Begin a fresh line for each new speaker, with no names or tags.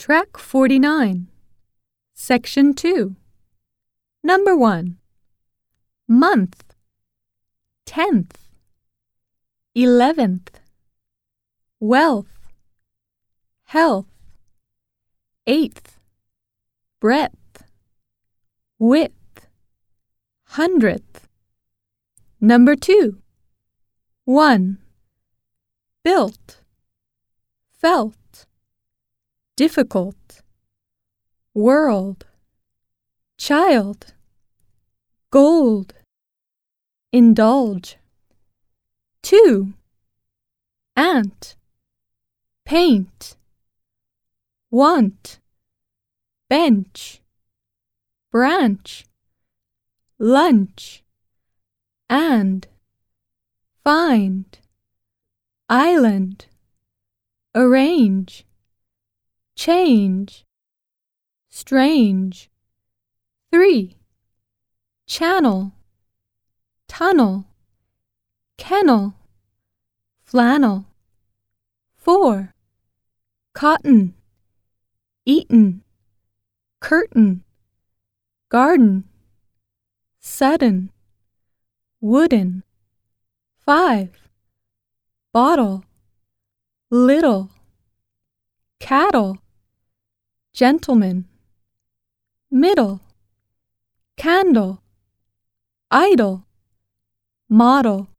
Track 49, Section 2. Number 1. Month, 10th, 11th. Wealth, health, 8th. Breadth, width, 100th. Number 2. 1. Built, felt, difficult, world, child, gold, indulge. 2. Ant, paint, want, bench, branch, lunch, and, find, island, arrange, change, strange. 3. Channel, tunnel, kennel, flannel. 4. Cotton, eaten, curtain, garden, sudden, wooden. 5. Bottle, little, cattle, gentleman, middle, candle, idle, model.